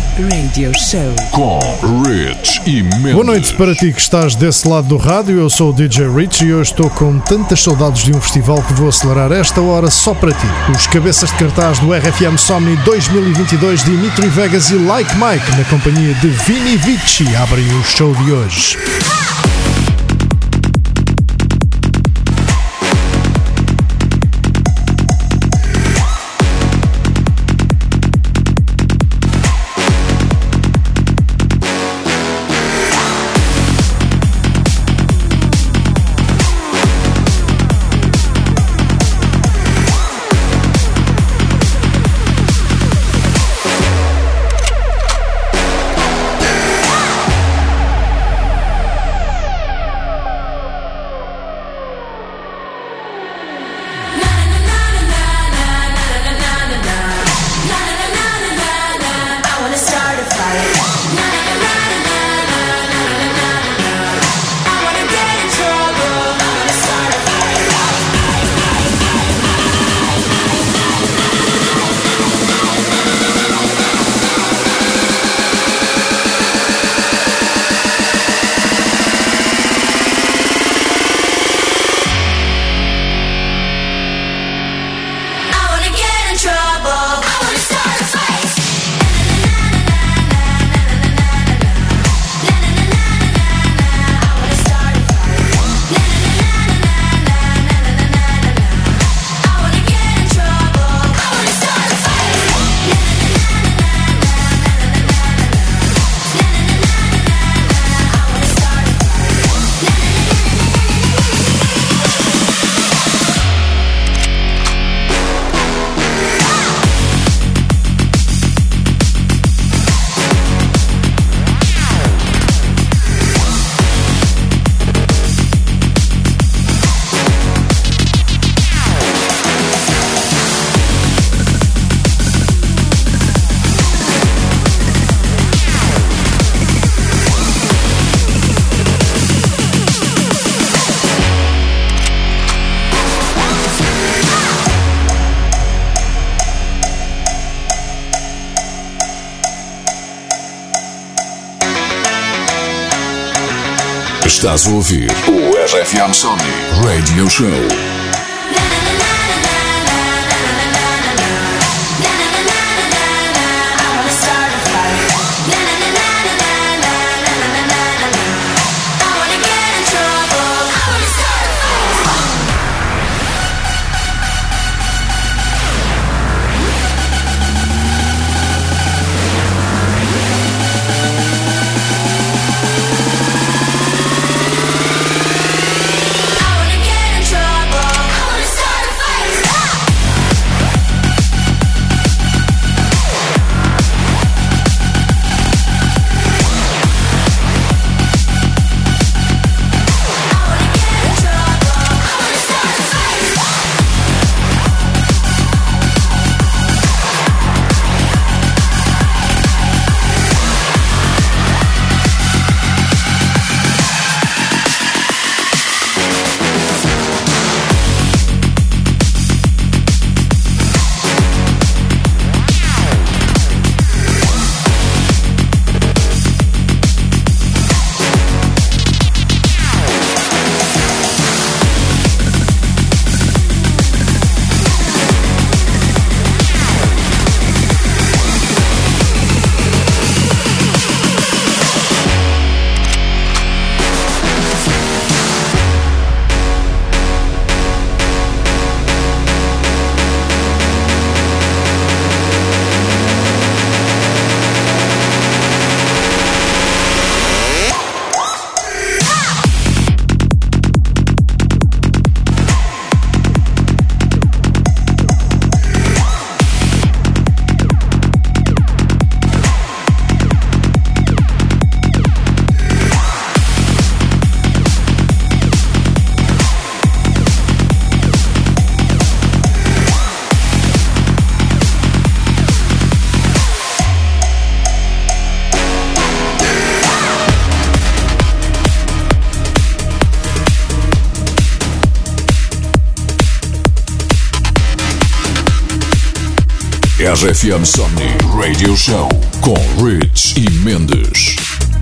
Radio Show com Rich e Mendes. Boa noite para ti que estás desse lado do rádio. Eu sou o DJ Rich e hoje estou com tantas saudades de um festival que vou acelerar esta hora só para ti. Os cabeças de cartaz do RFM Somni 2022, Dimitri Vegas e Like Mike, na companhia de Vini Vici, abrem o show de hoje. Estás a ouvir o RFM Somni Radio Show. Trouble. RFM Somni Radio Show com Rich e Mendes.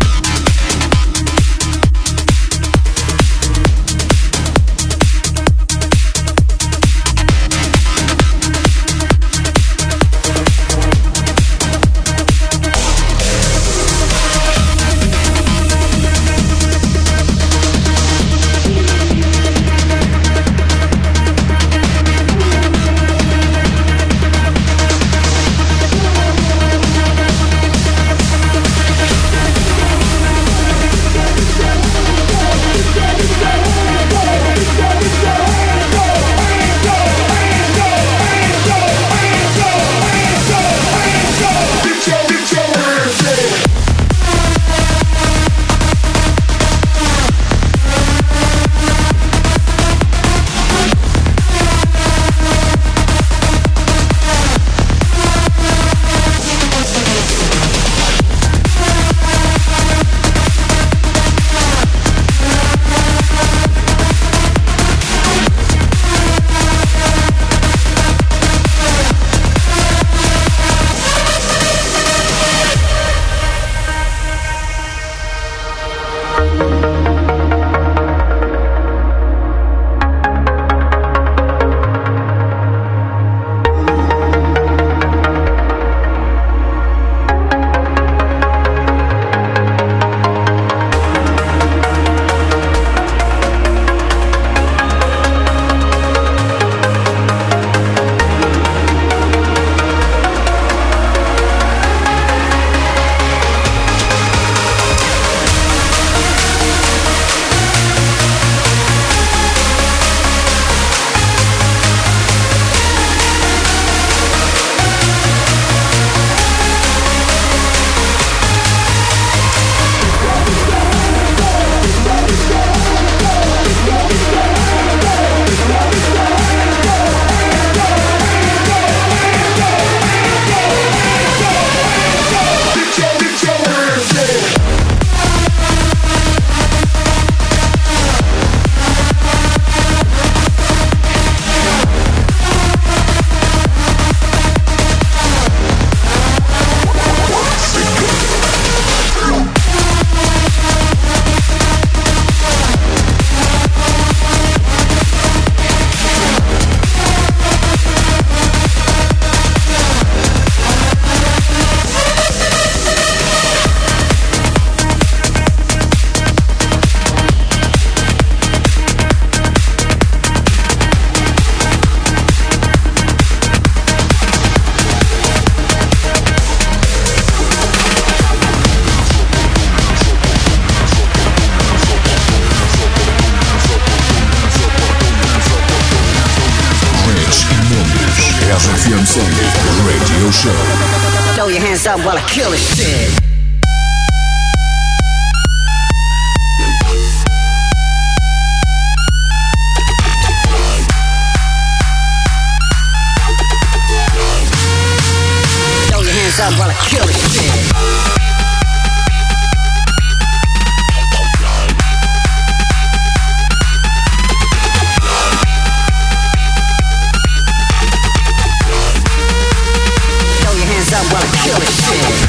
RFM Somni Radio Show. Throw your hands up while I kill this shit. Throw your hands up while I kill this shit. While I kill this shit.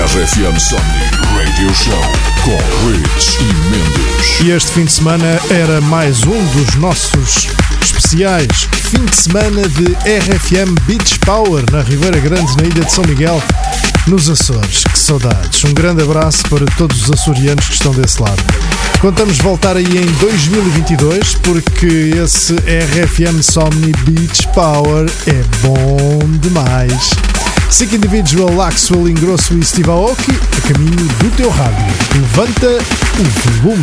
RFM Somni Radio Show com Rich e Mendes. E este fim de semana era mais um dos nossos especiais. Fim de semana de RFM Beach Power na Ribeira Grande, na Ilha de São Miguel, nos Açores. Que saudades. Um grande abraço para todos os açorianos que estão desse lado. Contamos voltar aí em 2022 porque esse RFM Somni Beach Power é bom demais. Sick Individual, Axwell Ingrosso e Steve Aoki, a caminho do teu rádio. Levanta o volume.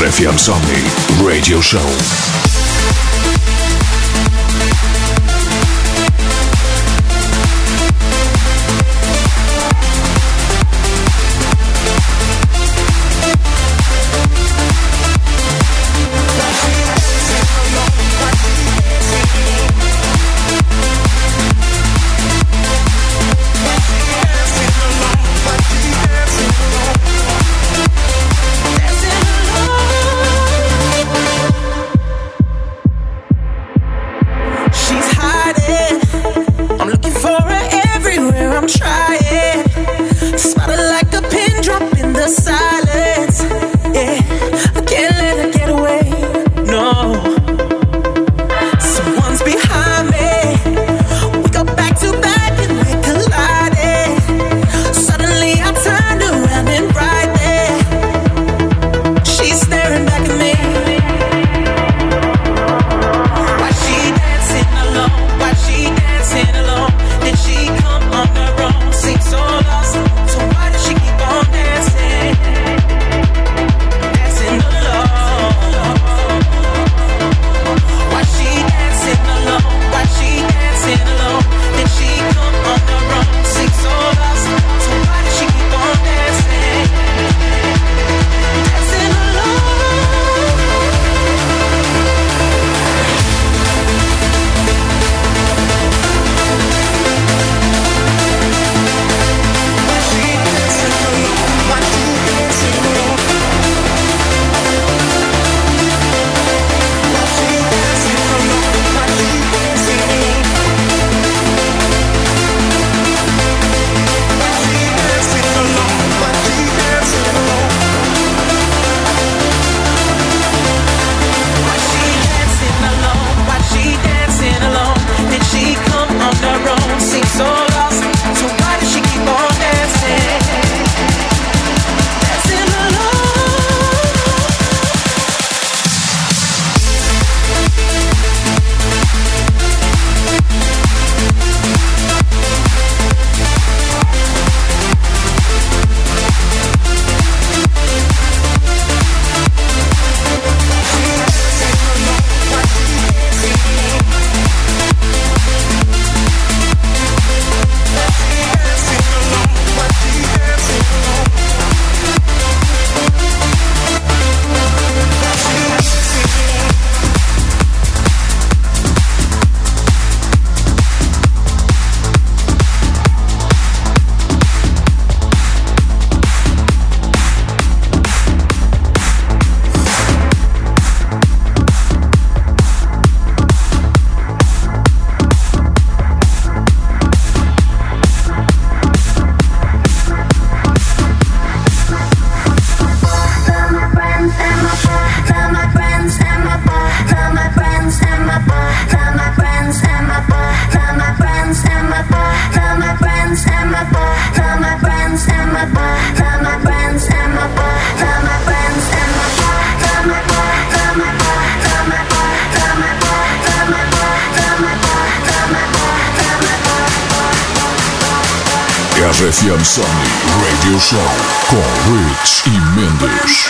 RFM Somni Radio Show. RFM Somni Radio Show com Rich e Mendes.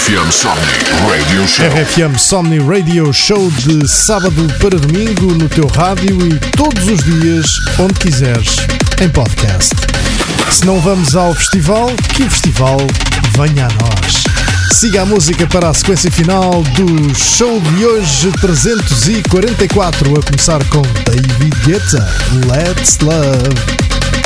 RFM Somni Radio Show. RFM Somni Radio Show de sábado para domingo no teu rádio e todos os dias, onde quiseres, em podcast. Se não vamos ao festival, que o festival venha a nós. Siga a música para a sequência final do show de hoje 344, a começar com David Guetta, Let's Love.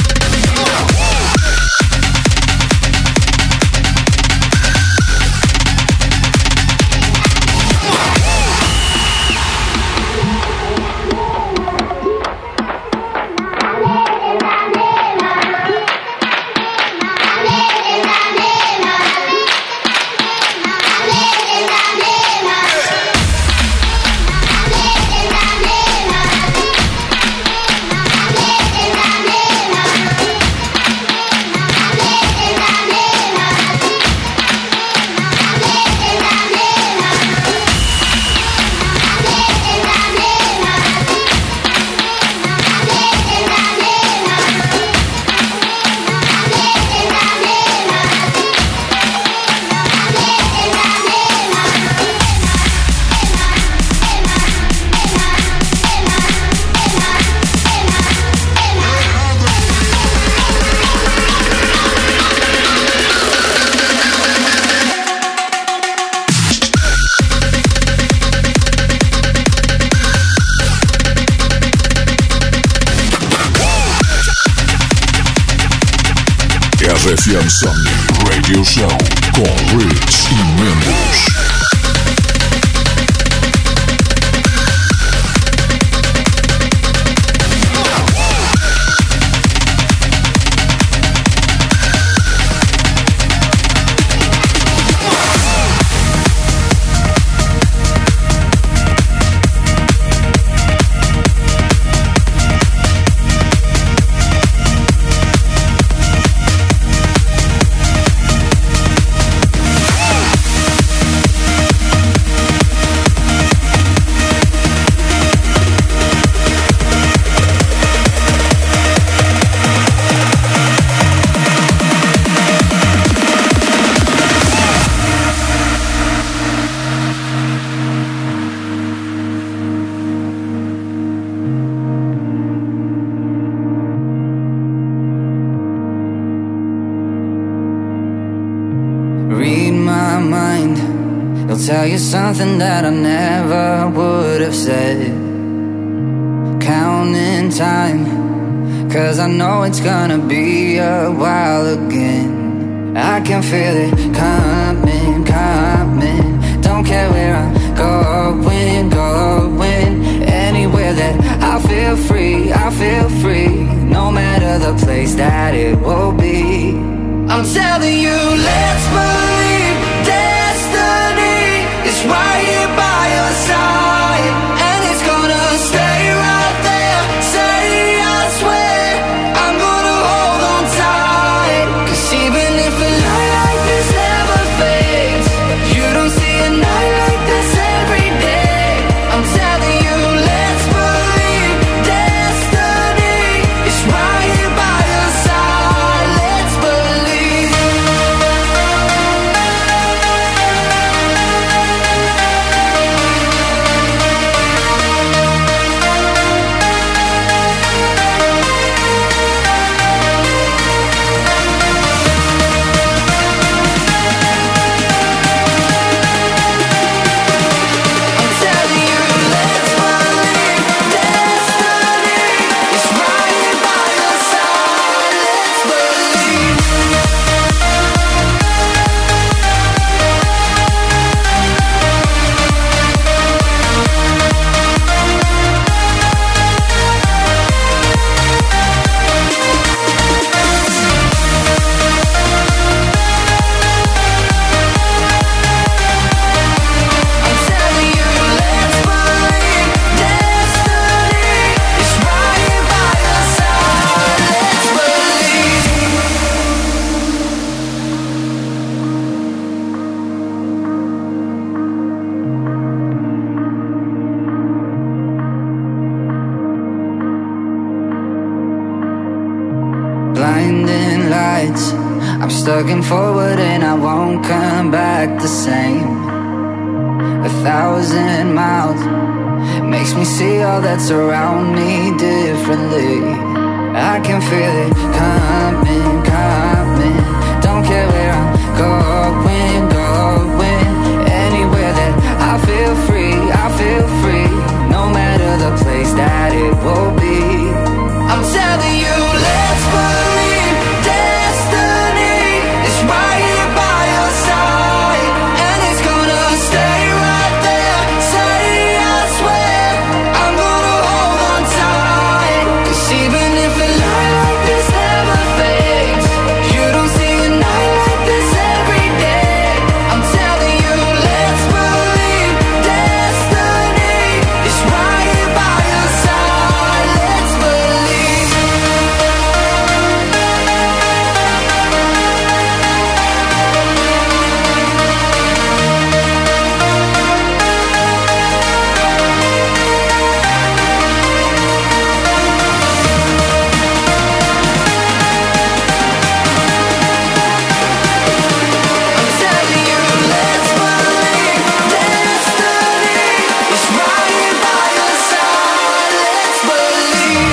RFM Somni Radio Show com Rich e Mendes. Tell you something that I never would have said. Counting time, 'cause I know it's gonna be a while again. I can feel it coming, coming. Don't care where I'm going, going. Anywhere that I feel free. No matter the place that it will be. I'm telling you, let's believe destiny is right here by your side, and it's gonna stay right there. Say I swear I'm gonna hold on tight, 'cause even if a night like this never fades, you don't see a night like this every day. I'm telling you, let's believe destiny is right here by your side. Let's believe. I'm stuck in forward and I won't come back the same. 1,000 miles makes me see all that's around me differently. I can feel it coming, coming. Don't care where I'm going, going. Anywhere that I feel free, no matter the place that it will be. I'm telling you, let's believe destiny is right here by your side, and it's gonna stay right there. Say I swear I'm gonna hold on tight, 'cause even if a light like this never fades, you don't see a night like this every day. I'm telling you, let's believe destiny is right here by your side. Let's believe. I'm telling you, let's believe destiny is right here by your side. Let's believe.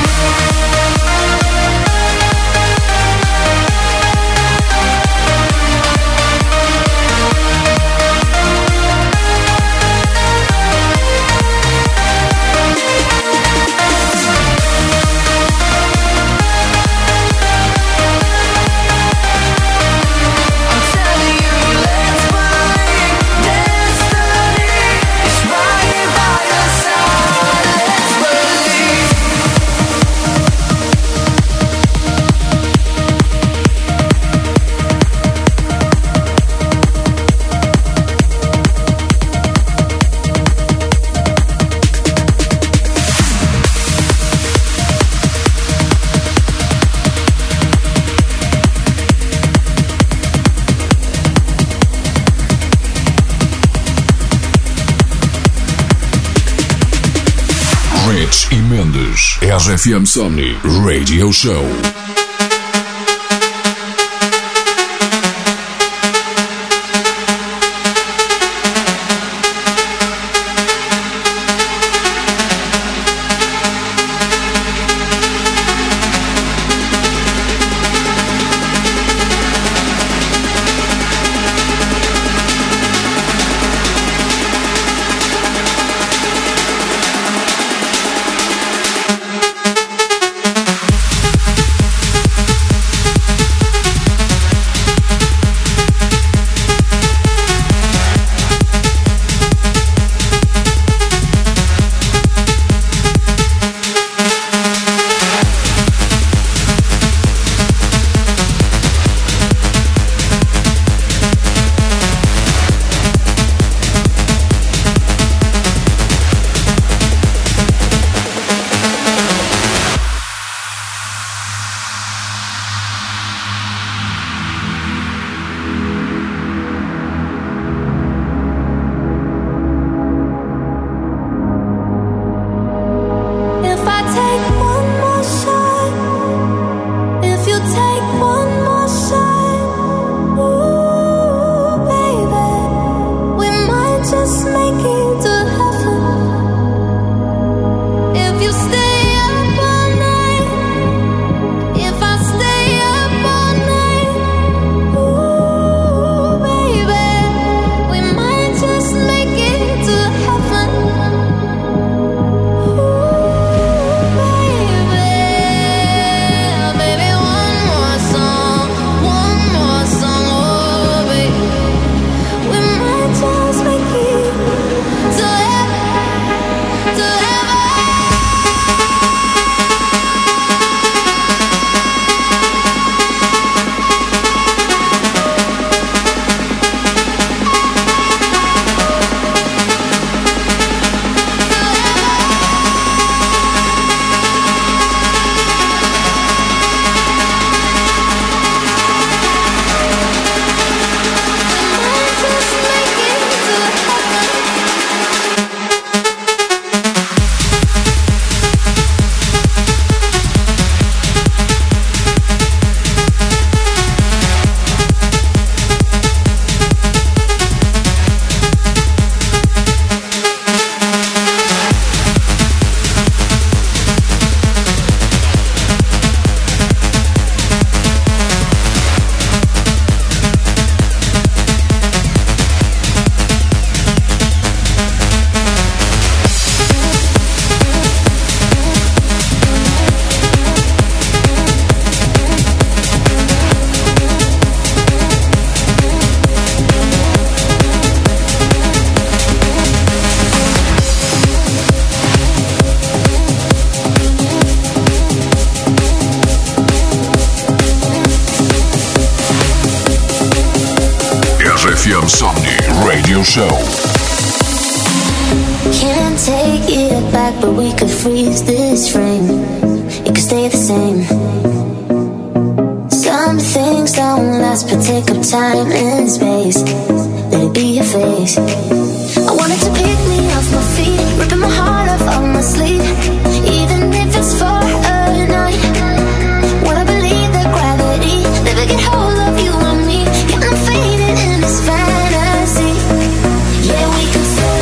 I'm telling you, let's believe destiny is right here by your side. Let's believe. Rich e Mendes, RFM Somni Radio Show. RFM Somni Radio Show. Can't take it back, but we could freeze this frame. It could stay the same. Some things don't last, but take up time and space. Let it be your face. I wanted to pick me off my feet, ripping my heart off my sleeve, even if it's for a night. Wanna believe that gravity never get hold of you and me. Yeah, I'm faded in this fantasy. Yeah, we could say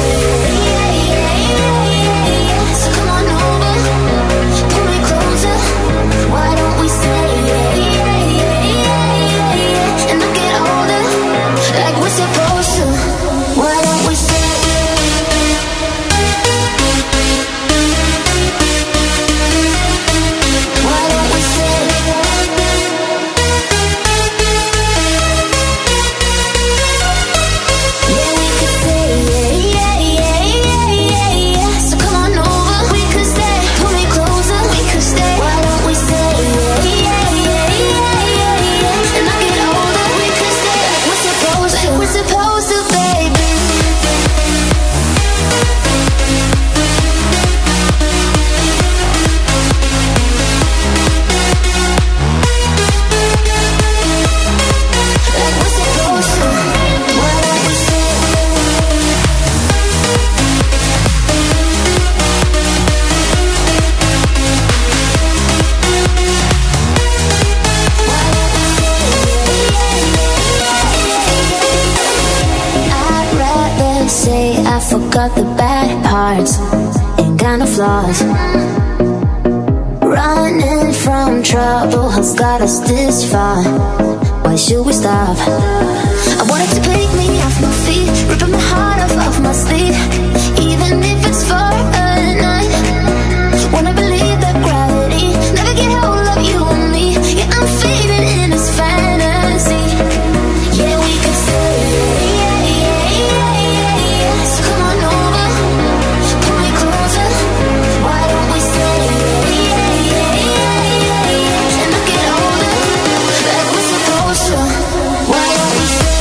so come on over, pull me closer. Why don't we say and not get older like we're supposed to? Why don't we say got the bad parts and kind of flaws. Running from trouble has got us this far. Why should we stop? I wanted to pick me off my feet, ripping my heart off my sleeve, even if it's for a night. Wanna believe that gravity never get hold of you and me. Yeah, I'm faded in this fantasy. Yeah, we could say so come on over, pull me closer. Why don't we say and not get older like we're supposed to? Why don't we say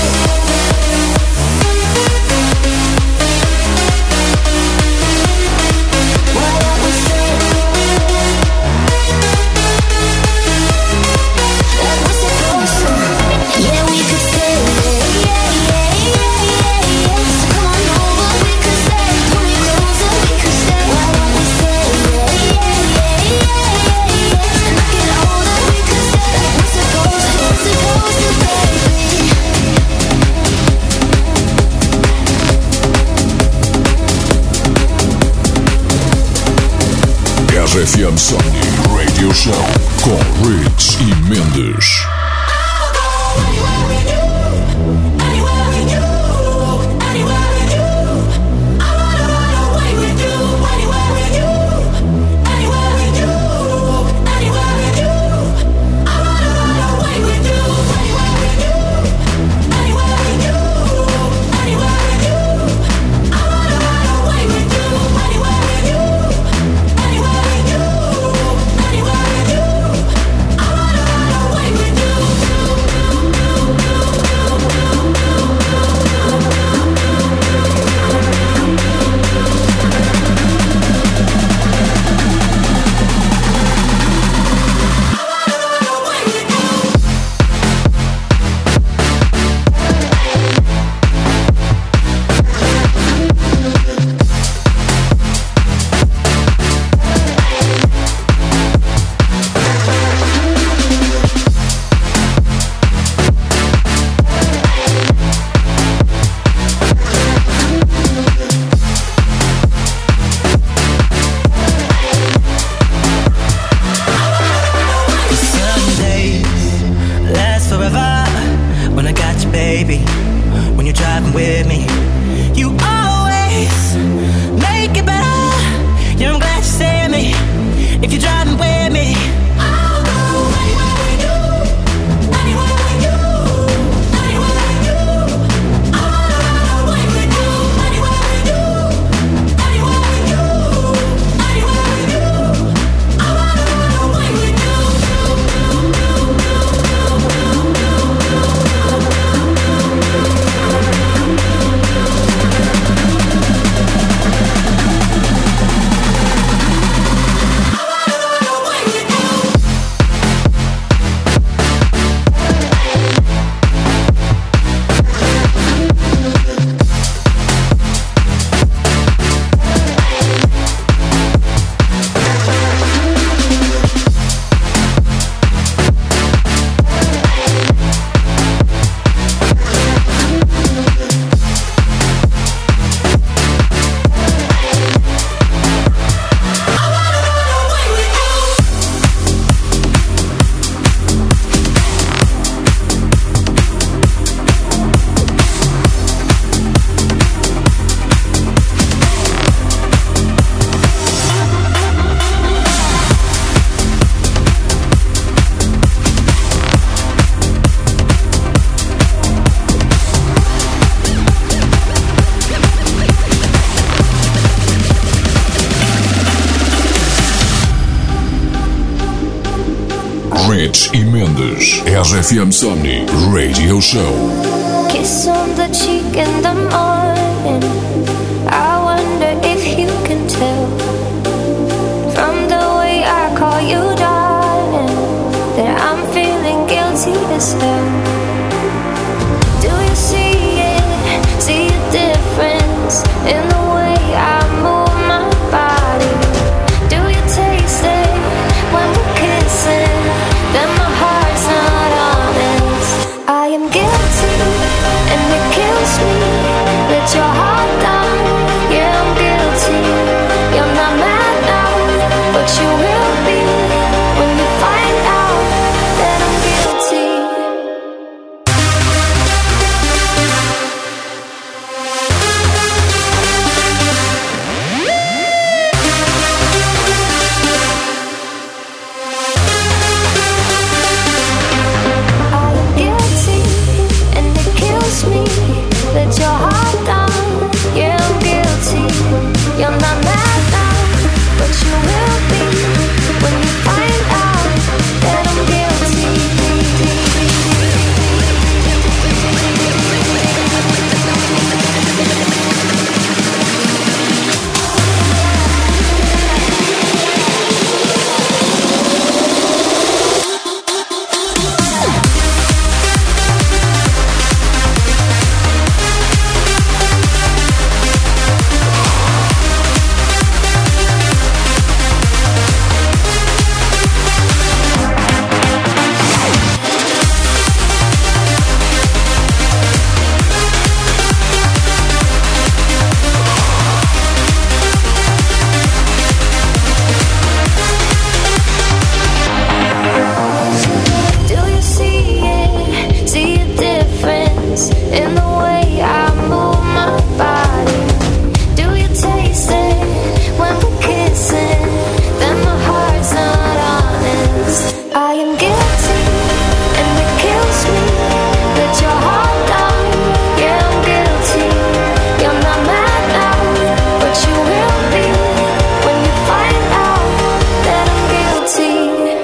RFM Somni Radio Show com Riggs e Mendes. Rich e Mendes. RFM Somni Radio Show. Kiss on the cheek in the morning. I wonder if you can tell from the way I call you darling that I'm feeling guilty as hell. Do you see it? See a difference in the way I move my body? Do you taste it when we're kissing? Then my heart's not honest. I am guilty and it kills me that your heart down. Yeah, I'm guilty. You're not mad now, but you will be when you find out that I'm guilty. I am guilty and it kills me that your heart down. Yeah, I'm guilty. You're not mad now, but you will be when you find out that I'm guilty. Do you see it? See a difference in the way I move my body? Do you taste it when we're kissing? Then my heart's not honest. I am guilty and it kills me that your heart down. Yeah, I'm guilty. You're not mad now, but you will be when you find out that I'm guilty.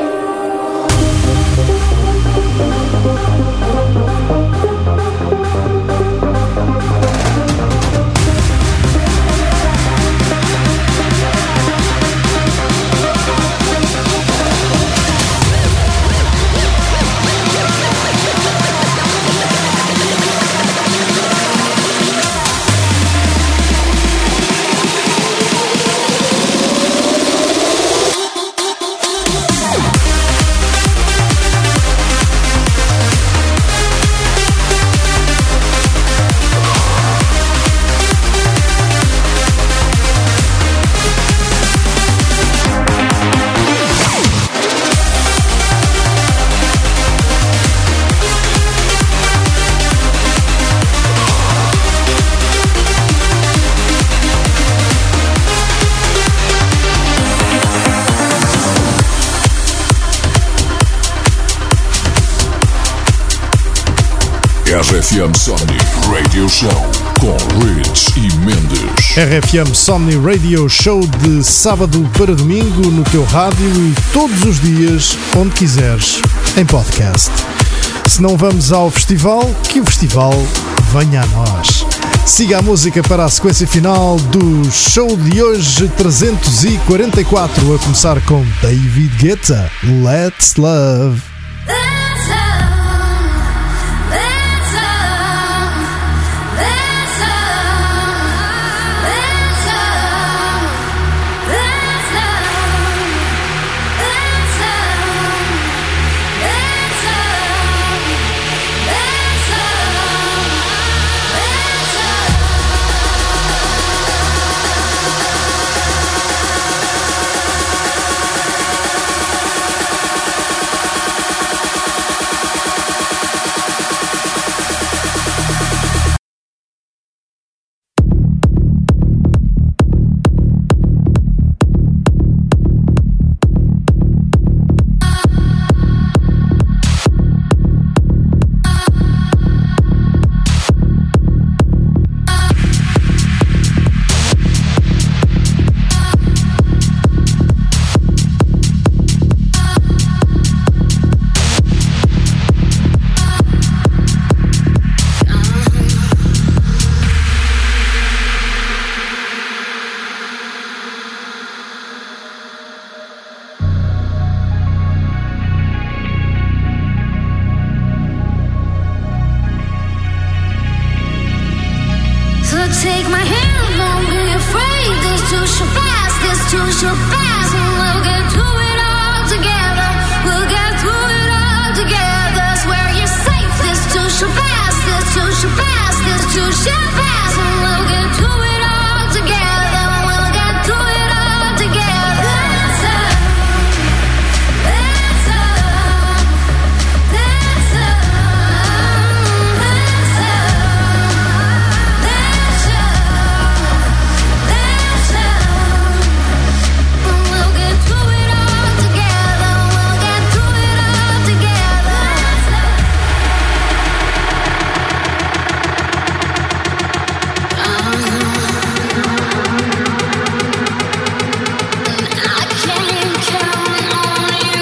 RFM Somni Radio Show com Rich e Mendes. RFM Somni Radio Show de sábado para domingo no teu rádio e todos os dias, onde quiseres, em podcast. Se não vamos ao festival, que o festival venha a nós. Siga a música para a sequência final do show de hoje 344, a começar com David Guetta, Let's Love. take my hand, don't be afraid. This too shall pass, this too shall pass, and we'll get through it all together. We'll get through it all together. Swear you're safe. This too shall pass, this too shall pass, this too shall pass, and we'll get through it all together. We'll get through it all together. That's up, that's up, that's up, that's up, that's up, that's up. And we'll get through it all together. We'll get through it all together. I can't count on you.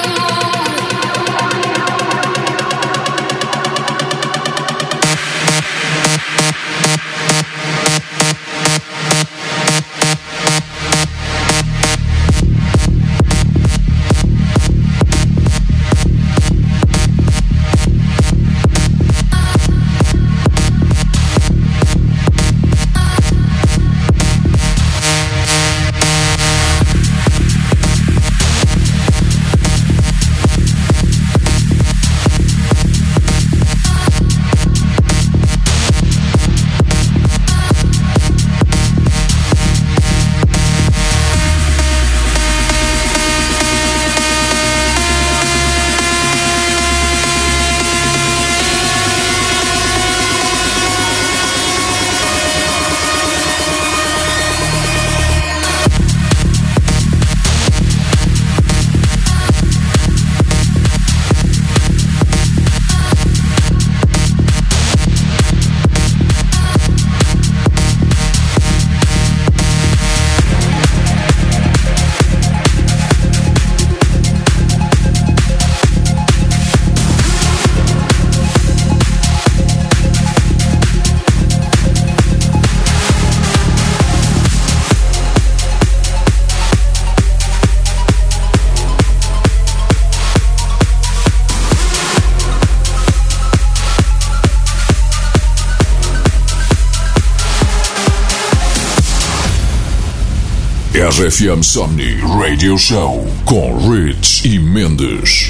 RFM Somni Radio Show com Rich e Mendes.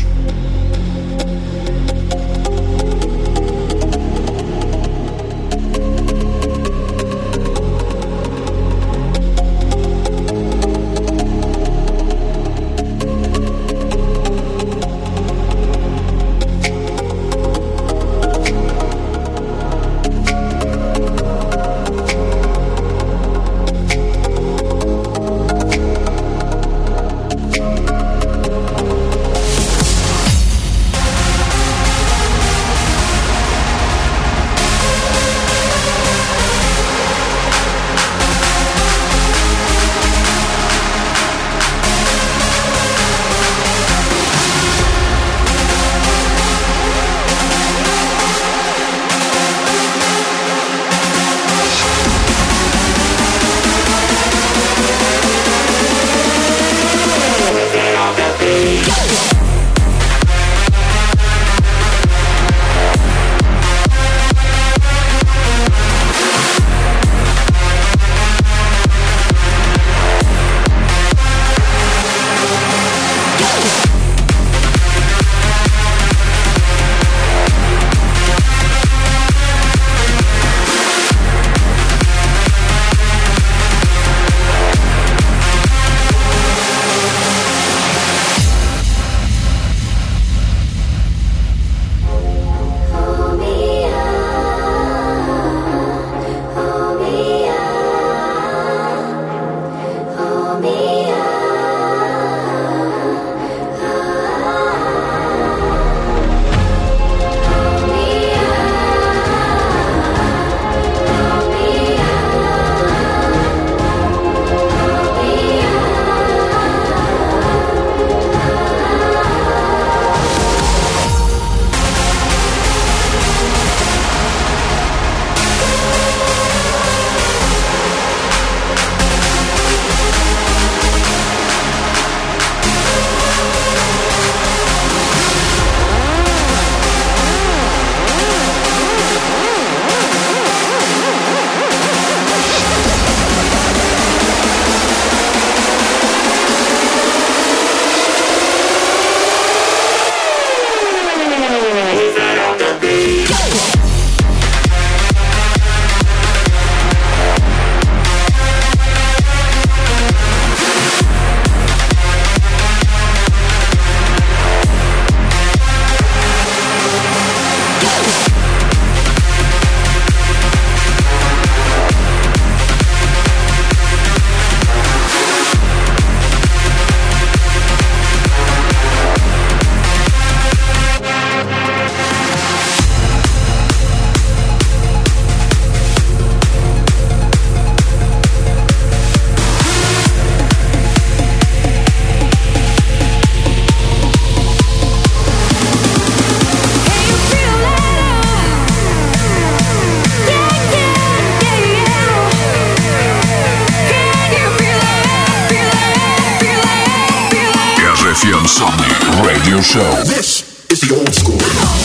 Radio Show. This is the old school.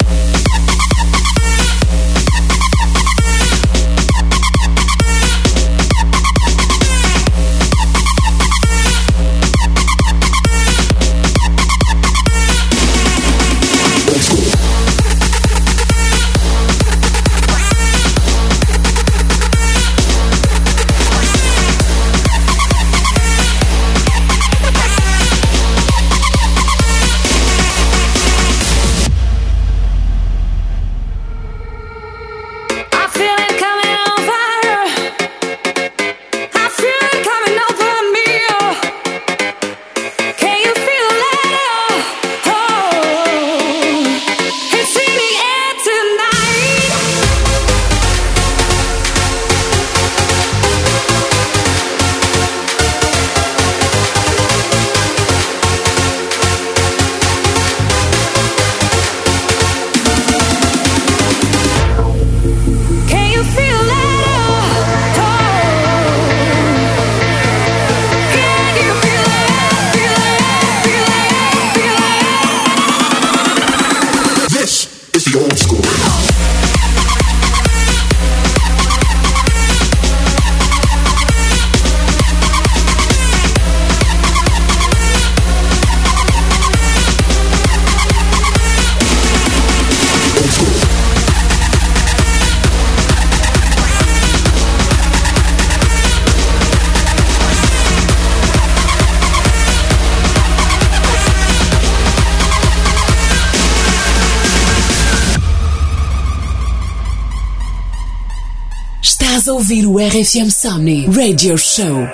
Estás a ouvir o RFM Somni Radio Show.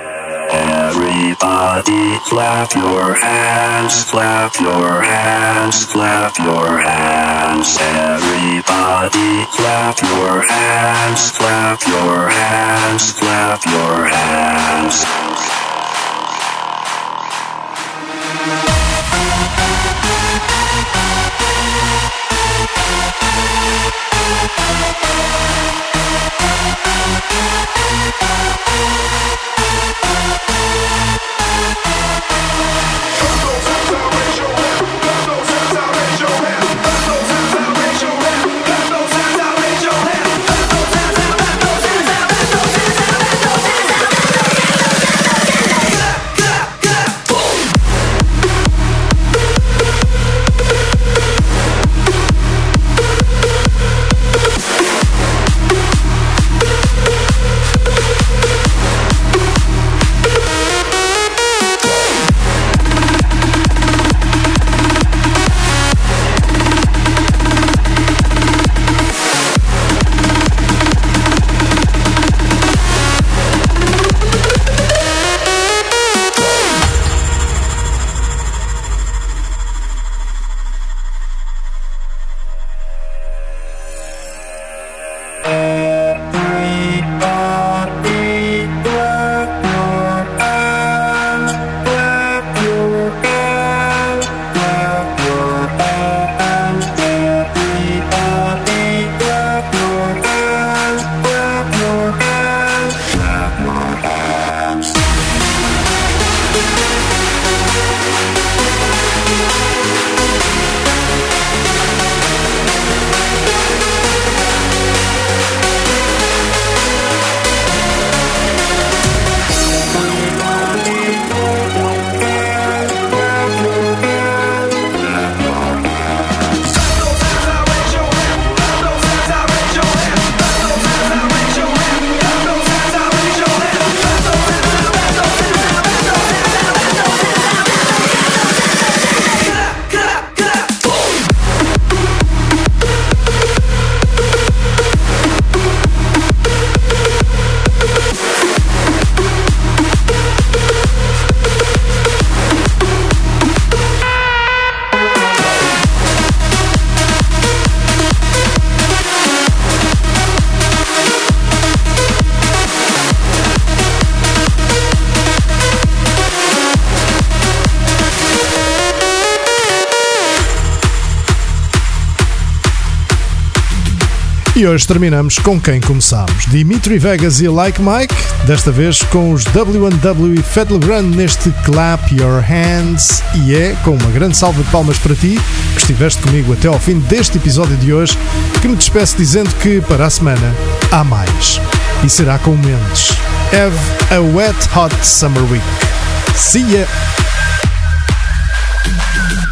Everybody clap your hands, clap your hands, clap your hands. Everybody clap your hands, clap your hands, clap your hands. E hoje terminamos com quem começámos. Dimitri Vegas e Like Mike, desta vez com os W&W e Fat Legrand neste Clap Your Hands. E é com uma grande salva de palmas para ti, que estiveste comigo até ao fim deste episódio de hoje, que me despeço dizendo que para a semana há mais. E será com Mendes. Have a wet hot summer week. See ya!